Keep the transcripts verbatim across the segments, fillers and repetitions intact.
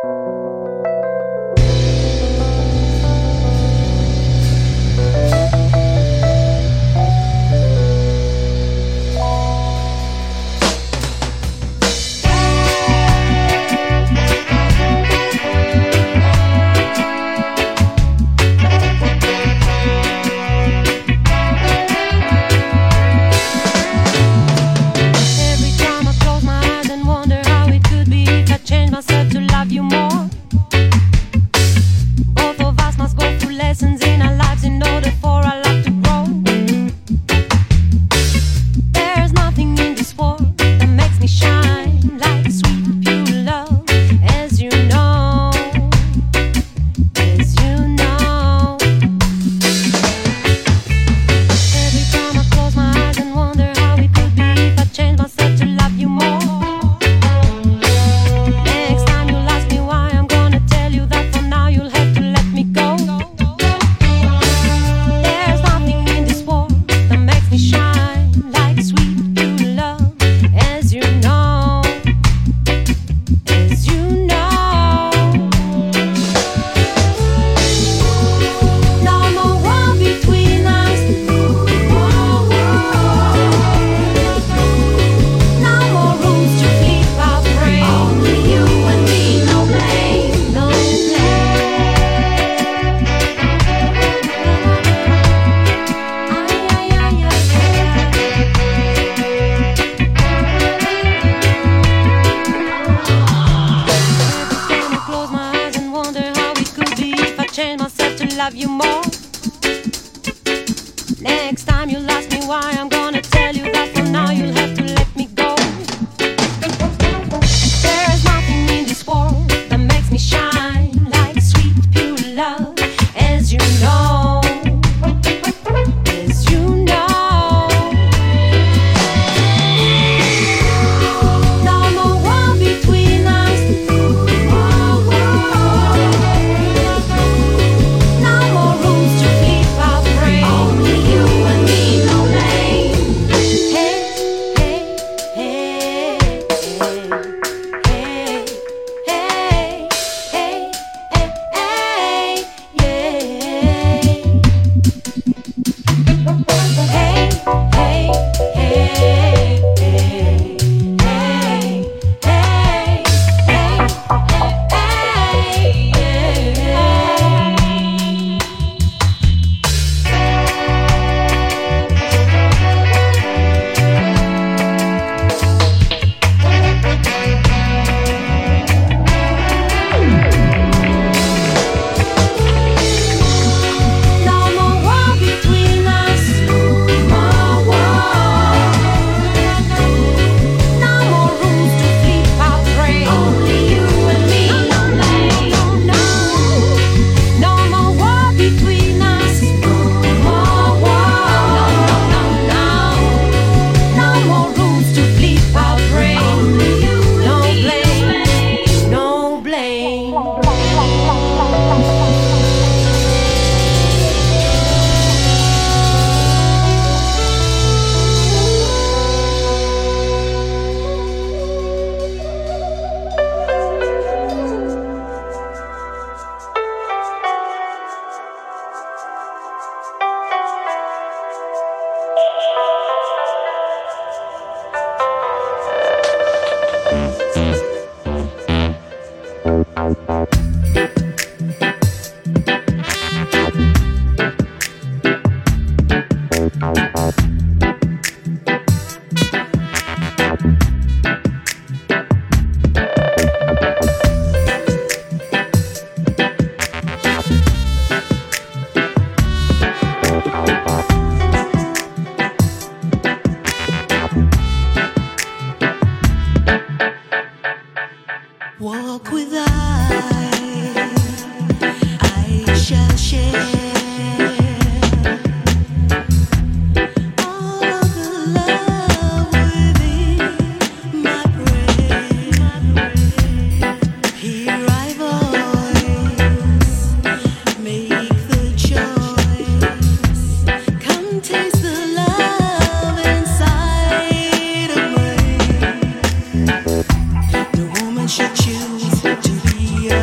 Should choose to be a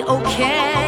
okay.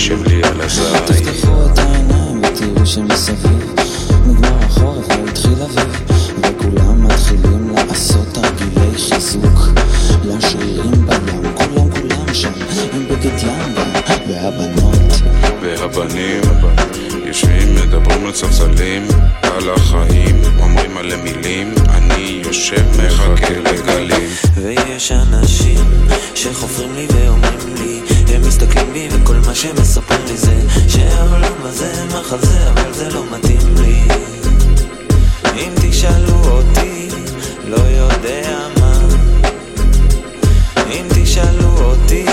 יושב לי על הזין. תפתחו את העיניים ותראו שמסביב נגמר החורף והתחיל אביב, וכולם מתחילים לעשות תרגילי חיזוק לשרירים בים. כולם כולם שם עם בגד ים גם, והבנות והבנים יושבים מדברים על ספסלים על החיים, אומרים עלי מילים, אני יושב מחכה לגלים. ויש אנשים שחופרים לי ואומרים לי, הם מסתכלים בי וכל מה שהם מספרים לי זה שהעולם הזה מחזה, אבל זה לא מתאים לי. אם תשאלו אותי לא יודע מה, אם תשאלו אותי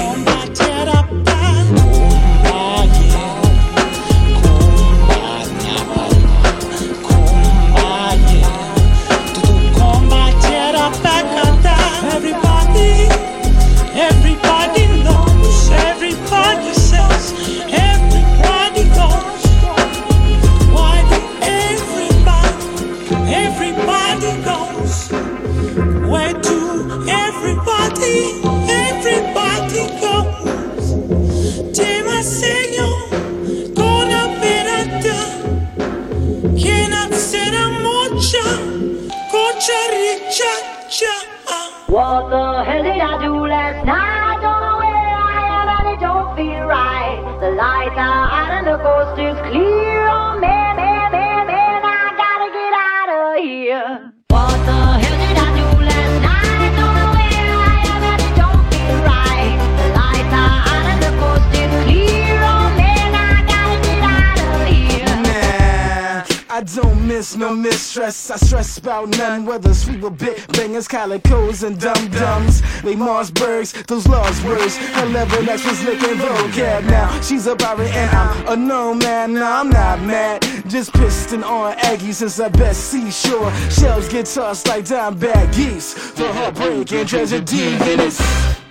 What the hell did I do last night? I don't know where I am and it don't feel right. The lights are out and the coast is clear. Oh man, man, man, man, I gotta get out of here. What the hell did I do last night? I don't know where I am and it don't feel right. The lights are out and the coast is clear. Oh man, I gotta get out of here. Nah, I don't miss no mistress. I stress about none, whether sweet or bit bangers, calicos and dum-dums. They Marsburgs, those lost words. Her level X was licking vocab. Now she's a pirate and I'm a no man. No, I'm not mad, just pissed and on Aggie since I best seashore. Shells get tossed like dime-bag geese. For heartbreak and tragedy in it.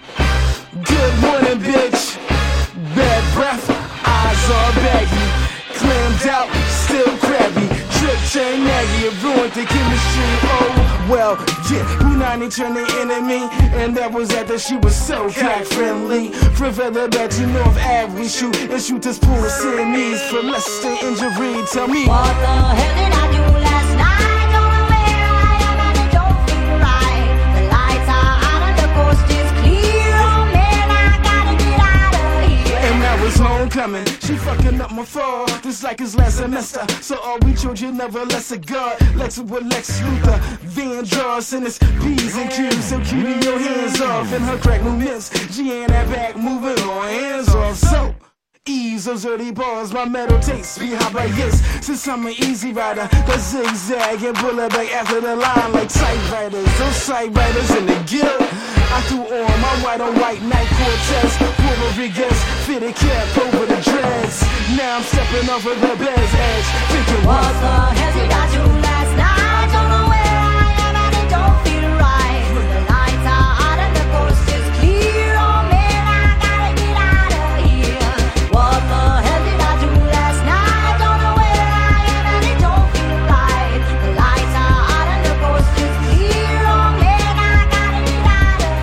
Good morning, bitch. Bad breath, eyes all baggy. Clammed out, still crabby. Trip chain Maggie, it ruined the chemistry. Oh, well, yeah, Punani turned the enemy. And that was after she was so cock friendly. From Feather back to North Ave, we shoot and shoot this pool of Siamese for less than injury. Tell me, what the hell did I do last night? Don't know where I am and it don't feel right. The lights are out and the coast is clear. Oh man, I gotta get out of here. And now it's homecoming. She fucking up my fall, just like his last semester. So all we children never less a god. Lex with Lex Luthor, Van Joss and his P's and Q's. So keep your hands off and her crack movements. She ain't that back moving on, hands off. So ease those early bars, my metal takes me high by yes. Since I'm an easy rider, the zigzag and pull it back after the line like typewriters. Those typewriters in the guild. I threw on my white on white night Cortez, Puerto Rodriguez, fitted cap over the dreads. Now I'm stepping over the bed's edge, thinking what the hell did I do last night? Don't know where I am and it don't feel right. The lights are out and the coast is clear. Oh man, I gotta get out of here. What the hell did I do last night? Don't know where I am and it don't feel right. The lights are out and the coast is clear. Oh man, I gotta get out of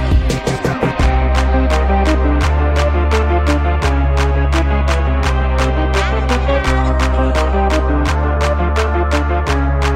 here.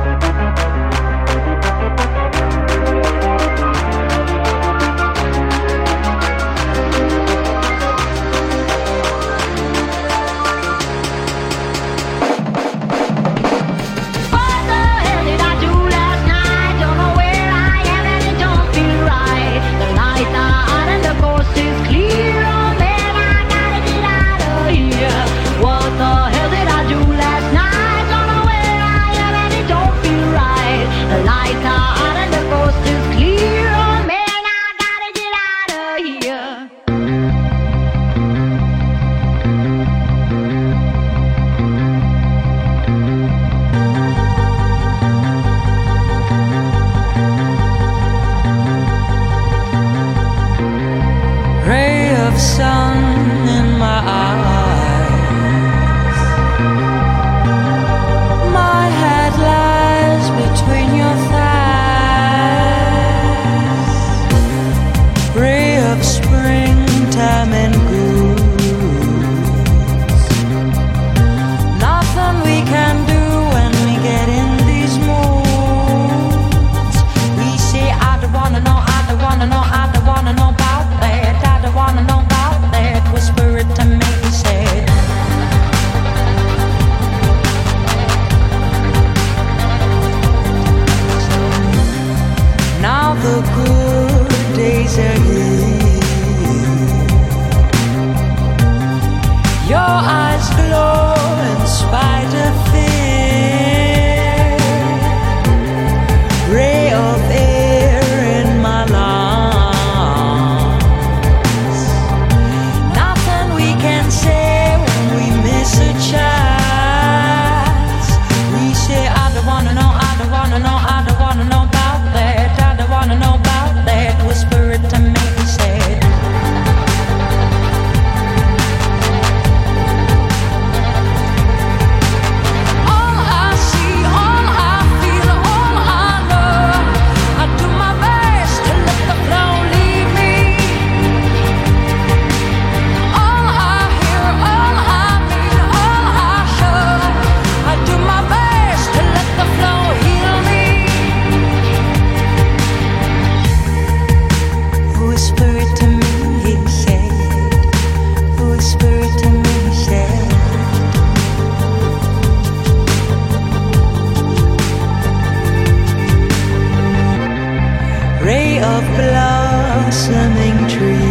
of blossoming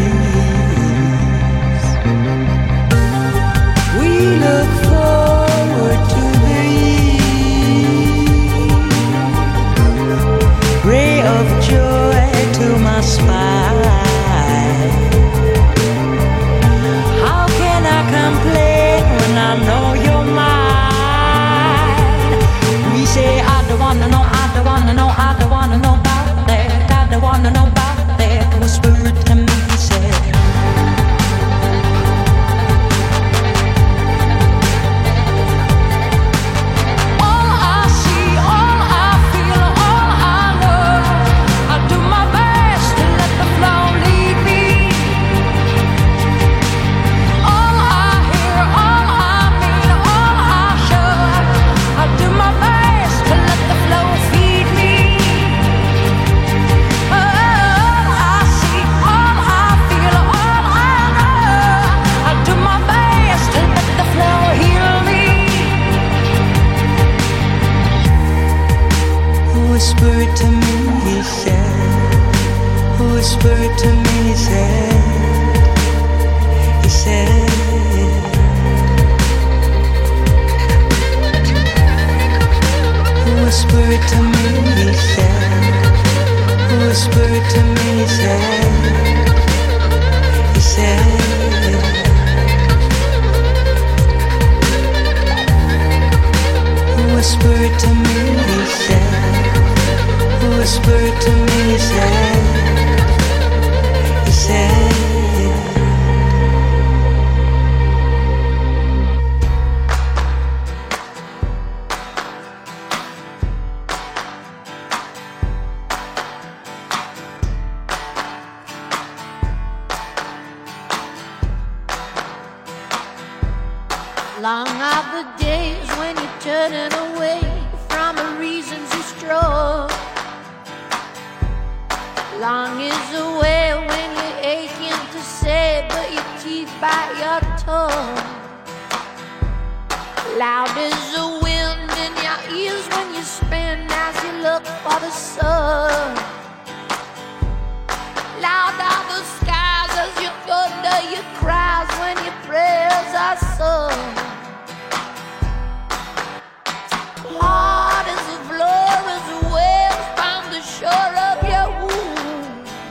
trees. We look forward to the ray of joy to my spine. How can I complain when I know you're mine? We say I don't wanna know, I don't wanna know, I don't wanna know about that. I don't wanna know about that. Whisper it to me, he said. Whisper it to me, he said. Whisper it to me, he said. He said. Whisper it to me, he said. Whisper it to me, he said. He said. Whisper it to me, he said. Whisper it to me, he said. He said. Long are the days when you're turning away from the reasons you strove. Long is the way when you're aching to say, but your teeth bite your tongue. Loud is the wind in your ears when you spin as you look for the sun. Loud are the skies as you thunder your cries when your prayers are sung. Hard as the floor as the waves found the shore of your womb.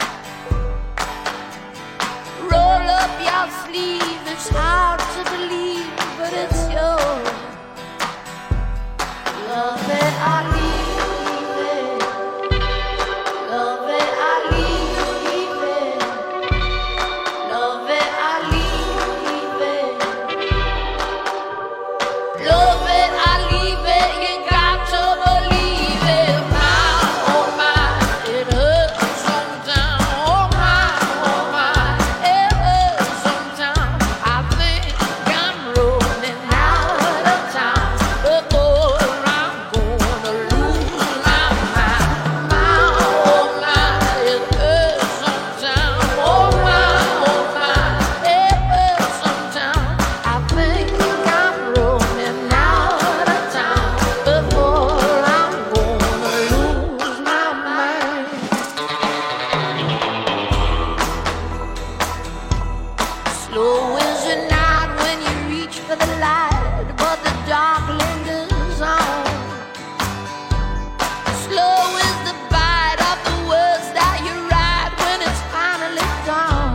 Roll up your sleeve, it's hard to believe, but it's yours. Love it, I leave it. Love it, I leave it. Love it, I leave it. Love it, I leave it. You got to believe it. My, oh my, it hurts sometimes. Oh my, oh my, it hurts sometimes. I think I'm running out of time before I'm gonna lose my mind. My, oh my, it hurts sometimes. Oh my, oh my, it hurts sometimes. I think I'm running out of time before I'm gonna lose my mind. Slow is the night when you reach for the light, but the dark lingers on. Slow is the bite of the words that you write when it's finally gone.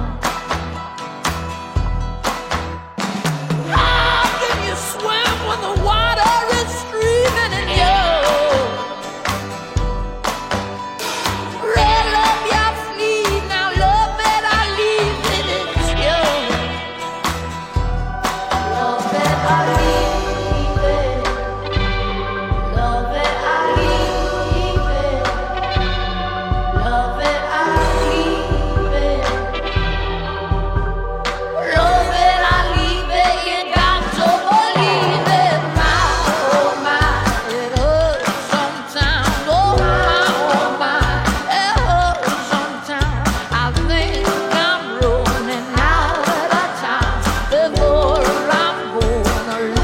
How can you swim when the water is streaming in you? Roll up your sleeve, now love it, I leave it, it's yours. Love it, I leave it. Love it, I leave it. Love it, I leave it. Love it, I leave it. You got to believe it. My, oh my, it hurts sometimes. Oh my, oh my, it hurts sometimes. I think I'm running out of time before I'm gonna lose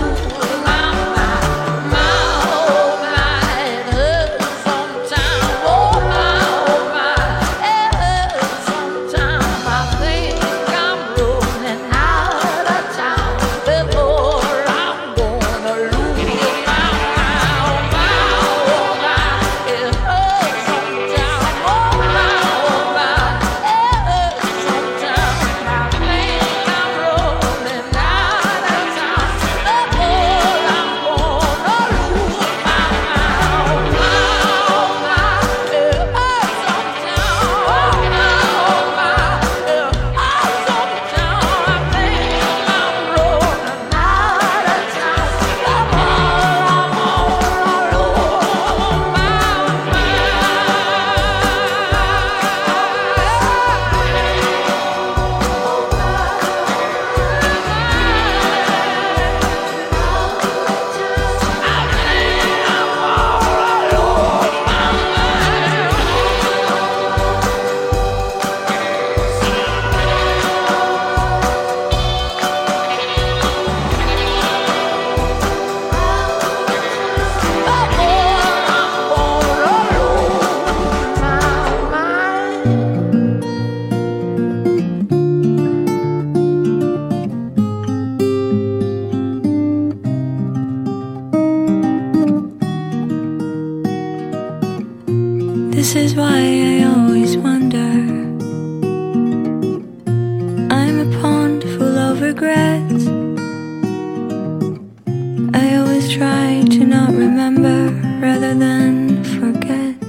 This is why I always wonder. I'm a pond full of regrets. I always try to not remember rather than forget.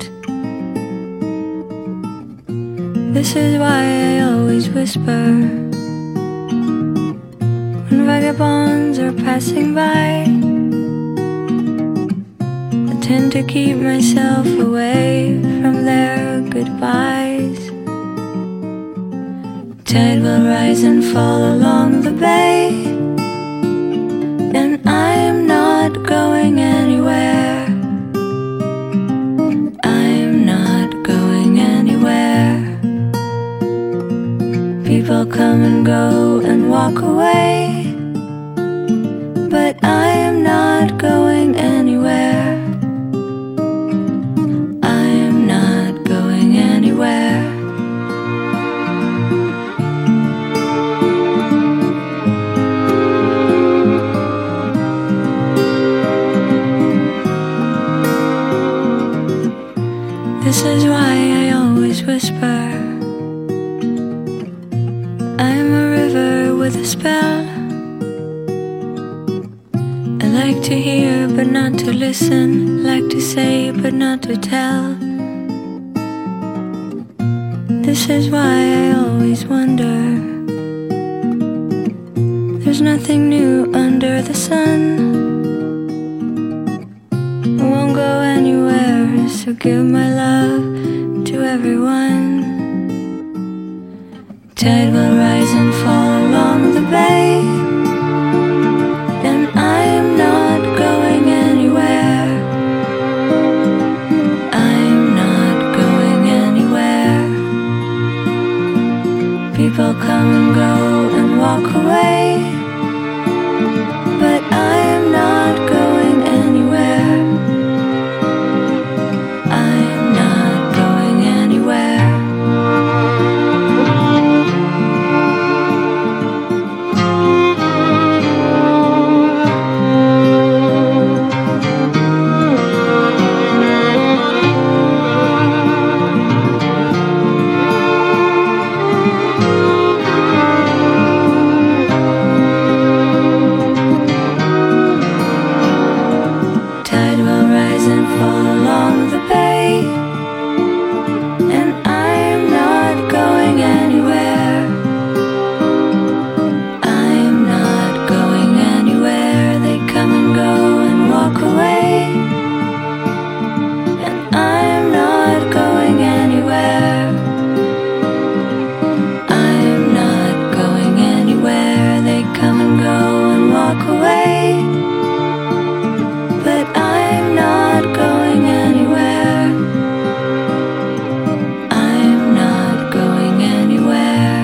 This is why I always whisper when vagabonds are passing by. I tend to keep myself away from their goodbyes. Tide will rise and fall along the bay, and I am not going anywhere. I'm not going anywhere. People come and go and walk away, but I am not going anywhere. I am not going anywhere. This is why I always whisper. I'm a river with a spell. I like to hear but not to listen, like to say but not to tell. This is why I always wonder. There's nothing new under the sun. I won't go anywhere, so give my love to everyone. Tide will rise and fall along the bay, and I am not going anywhere. I'm not going anywhere. People come and go and walk away, but I am not going anywhere. I am not going anywhere. Tide will rise and fall along the bay, and I am not going anywhere. I am not going anywhere. They come and go and walk away, and I am not going anywhere. I am not going anywhere. They come and go and walk away, but I'm not going anywhere. I'm not going anywhere.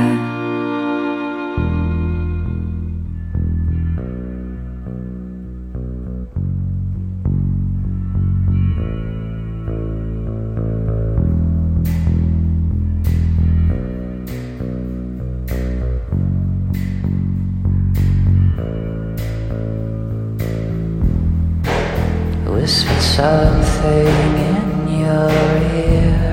Whispered something in your ear.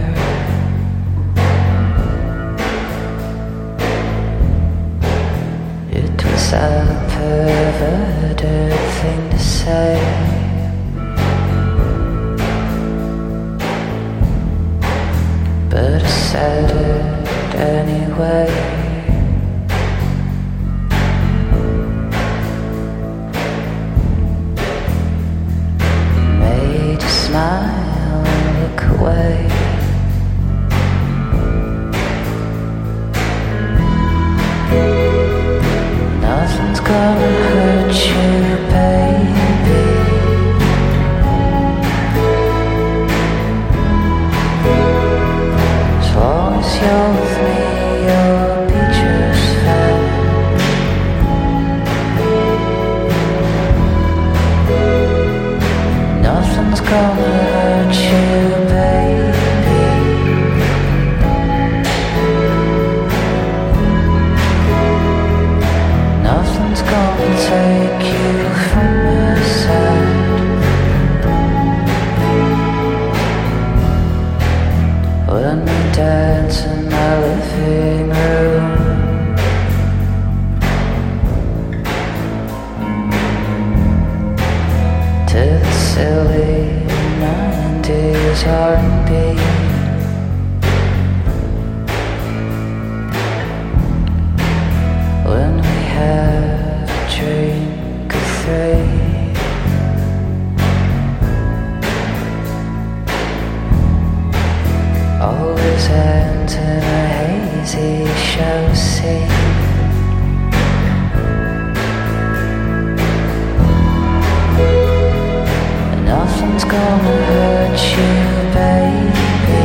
It was a perverted thing to say, but I said it anyway. Made you smile and look away. Nothing's gonna hurt you, baby. As long as you're with me, you'll be just fine. Nothing's gonna hurt you, baby. Nothing's gonna take you from my side. silly nineties R and B. When we have a drink of three, always ends in a hazy show scene. Nothing's gonna hurt you, baby.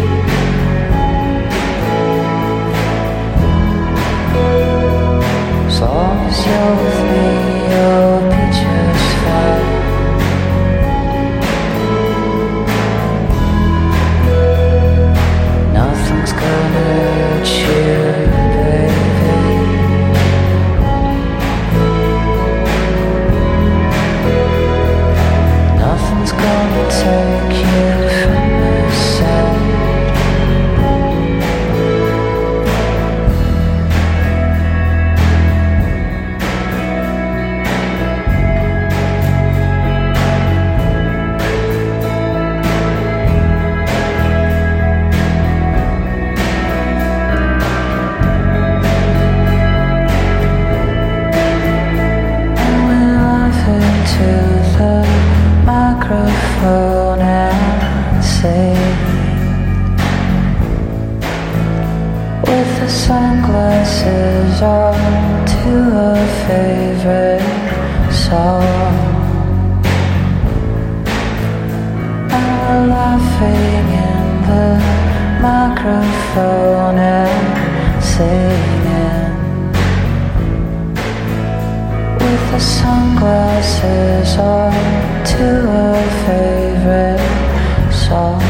As long as you're with me, you'll be just fine. Nothing's gonna hurt you, baby. Nothing's gonna take you from my side. And we laugh into the microphone and sing with the sunglasses on to a favorite song. And we're laughing in the microphone and singing with the sunglasses on to a favorite song.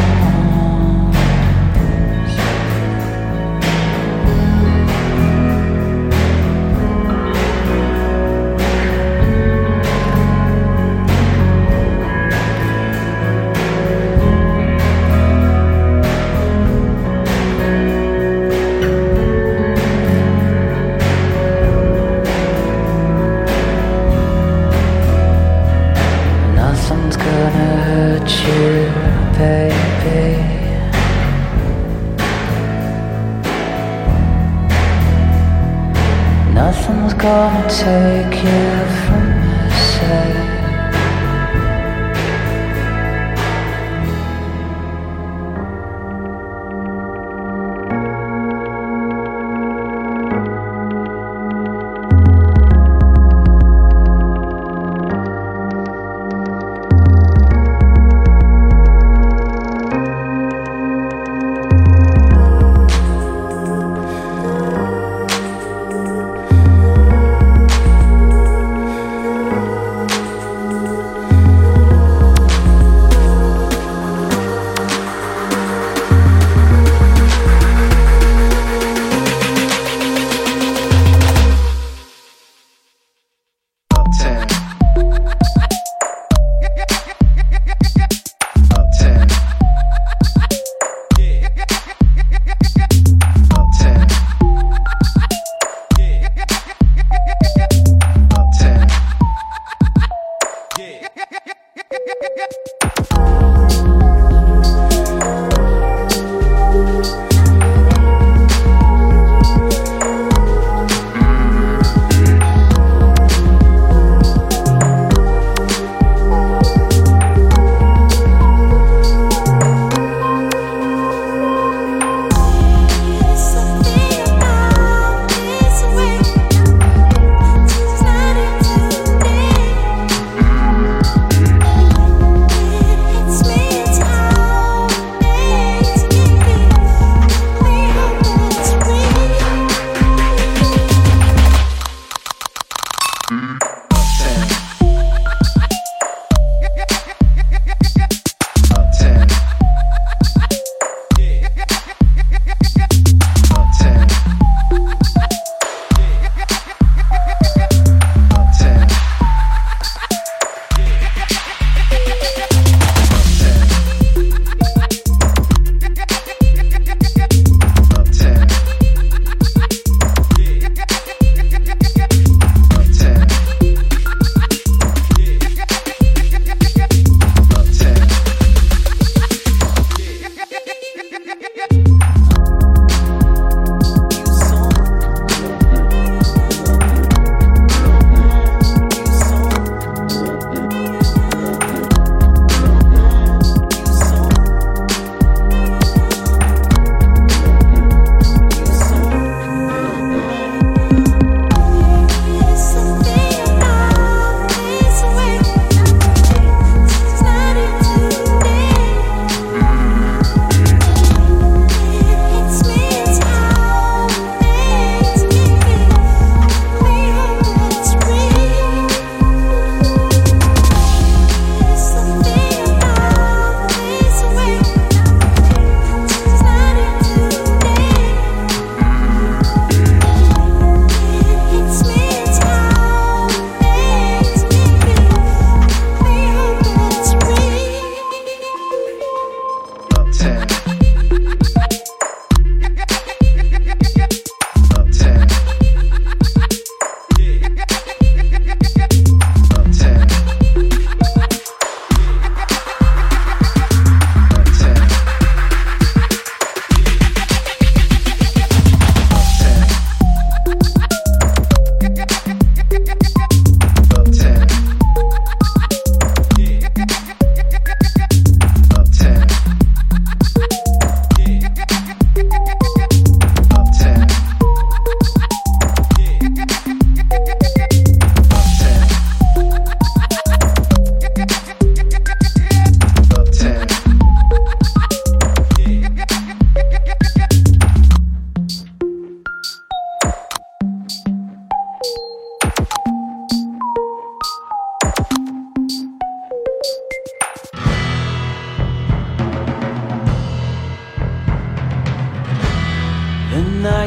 Nothing's gonna hurt you, baby. Nothing's gonna take you from my side.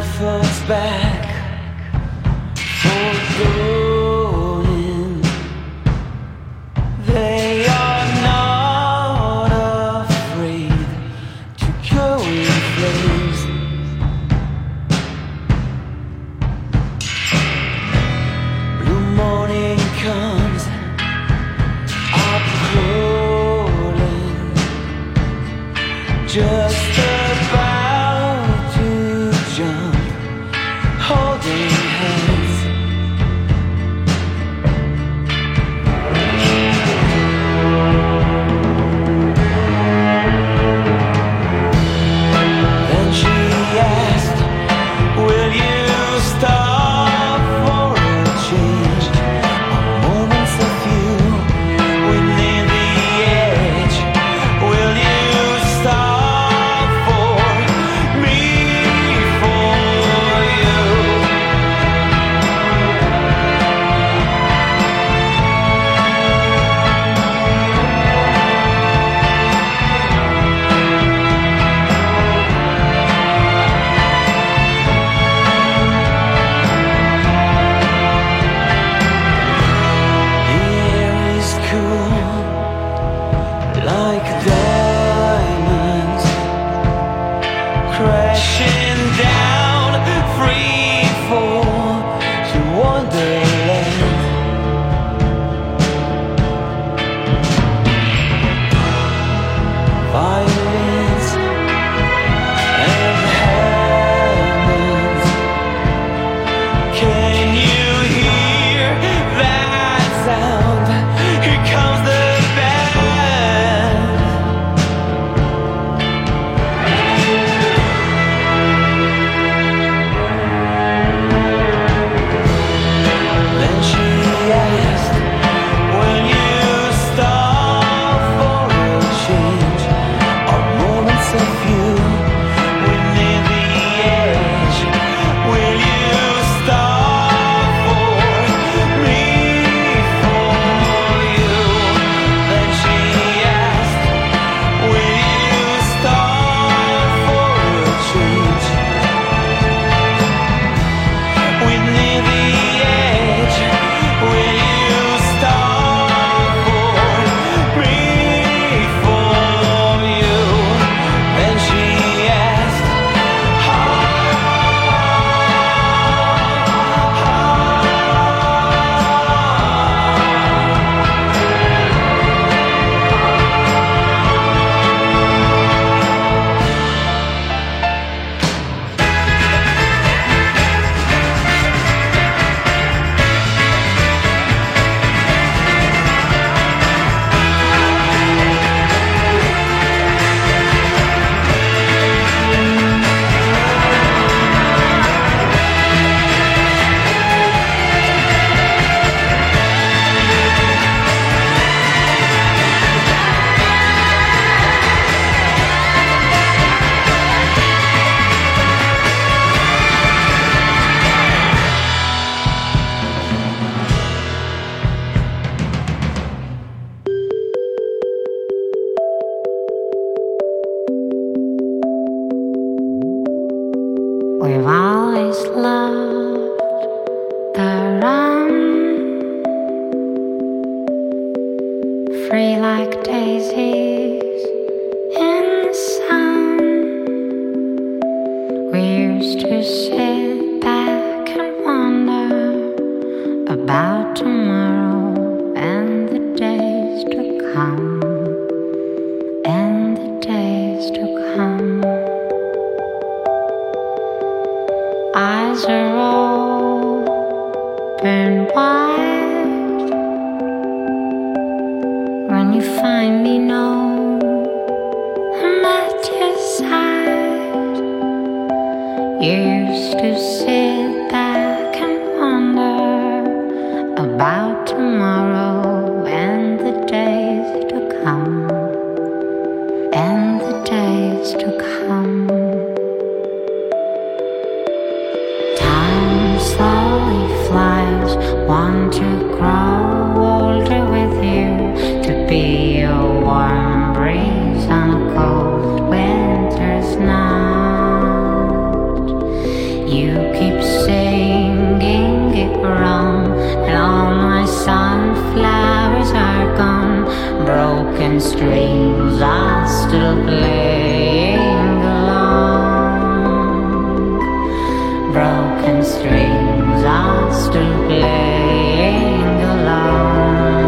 thoughts back for going. They are not afraid to go in flames. Blue morning comes up crawling, just about to jump, holding hands. Then she asked, will you stop for a change? A moments of you within the edge. Will you stop for me, for you? The air is cool like diamonds, crashing down, free fall to wonderland. Violins and hammers, can you hear that sound? Here comes the band. Then she asked, will you stop for a change? Our moments of you within the edge. Will you stop for me, for you? Then she asked, will you stop for a change? Within the edge, will you stop for me, for you? Then she asked, We've always loved the run, free like daisies in the sun. We used to sit back and wonder about tomorrow and the days to come, and the days to come. Eyes are open wide when you find me, know I'm at your side. You used to sit back and wonder about tomorrow and the days to come, and the days to come. Slowly flies, want to grow older with you, to be a warm breeze on a cold winter's night. You Broken strings are still playing along. Broken strings are still playing along.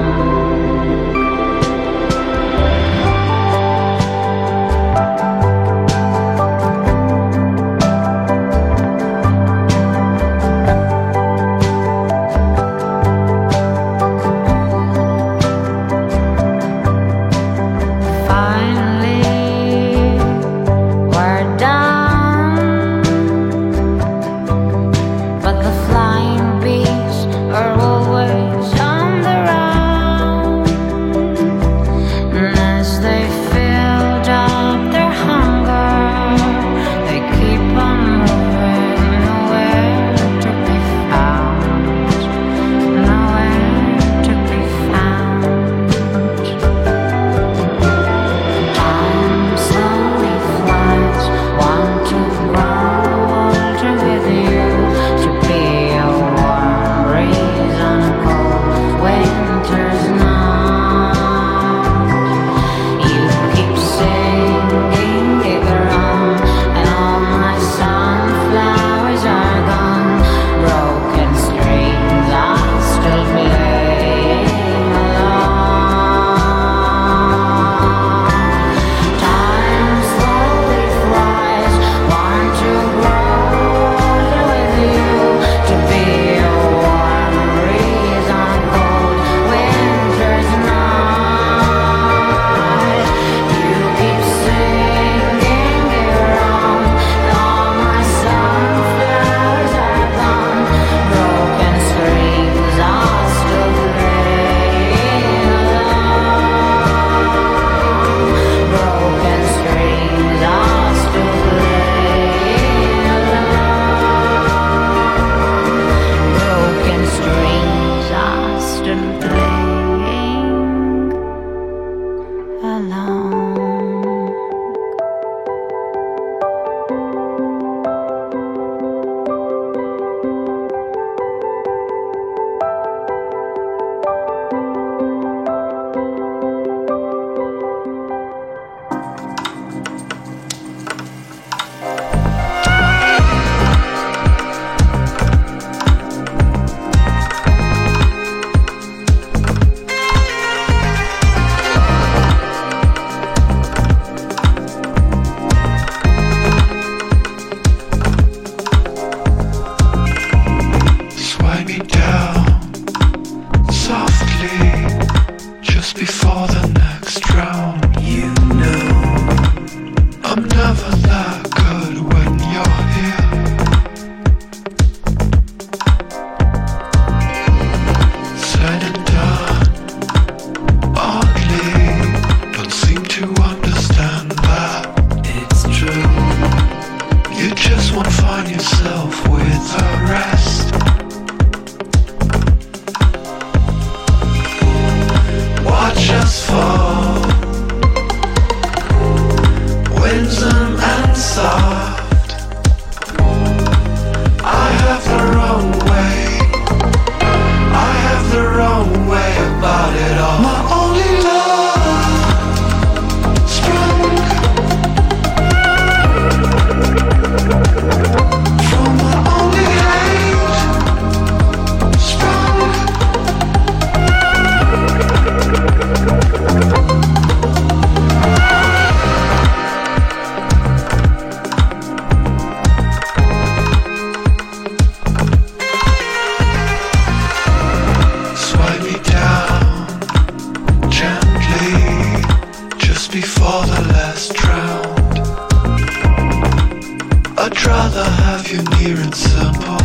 I'd rather have you near and simple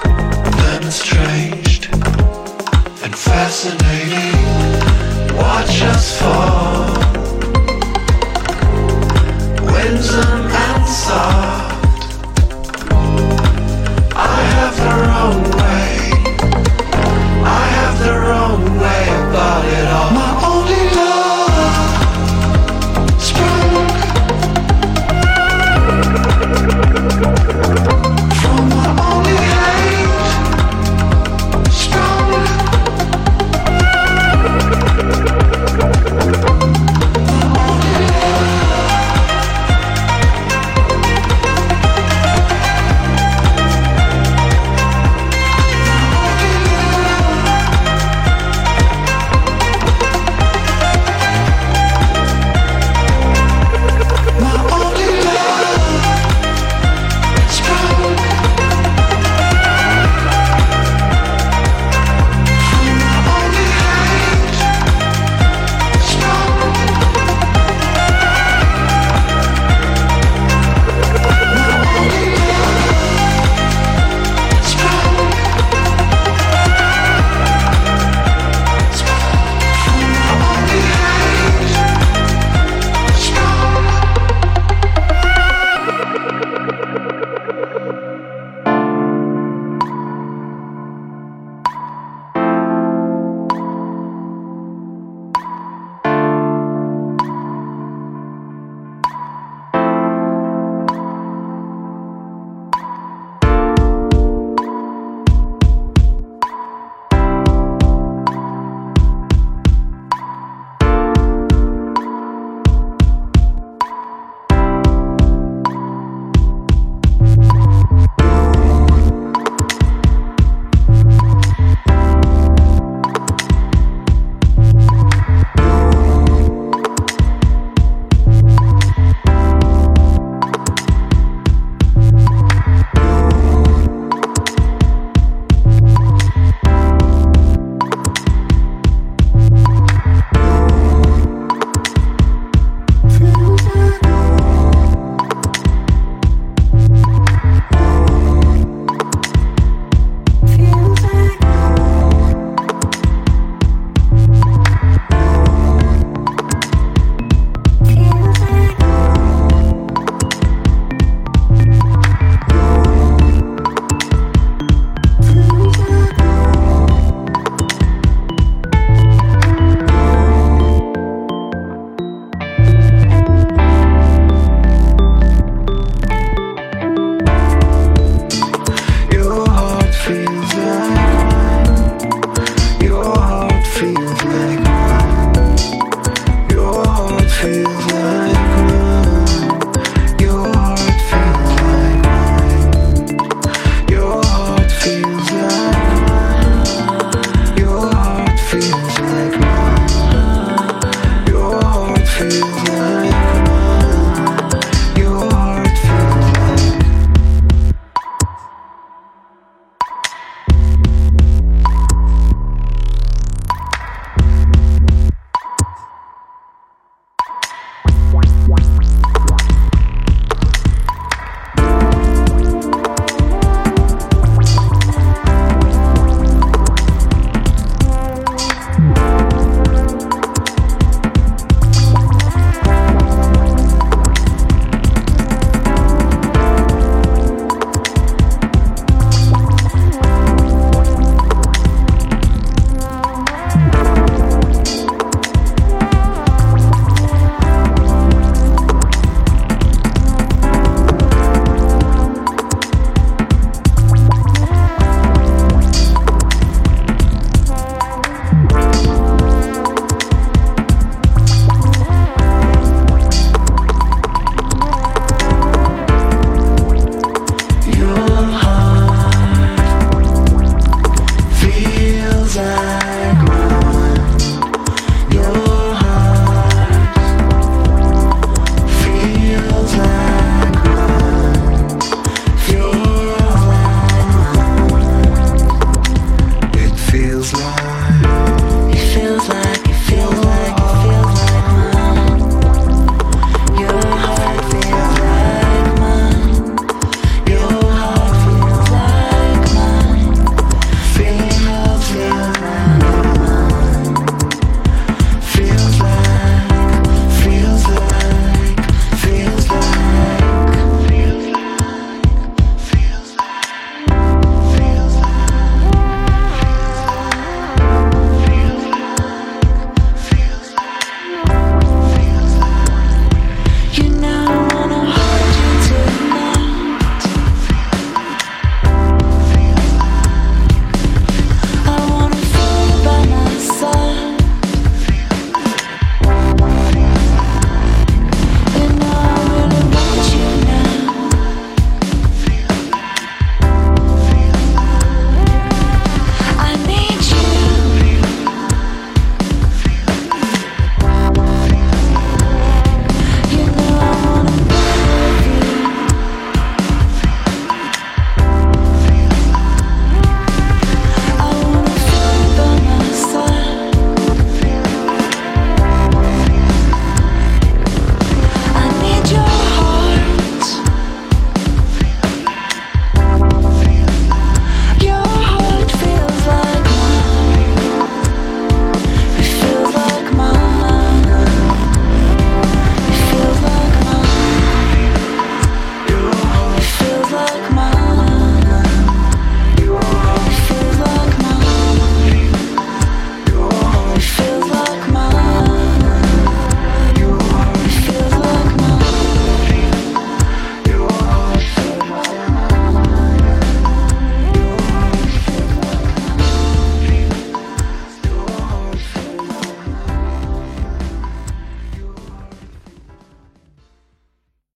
than estranged and fascinating. Watch us fall.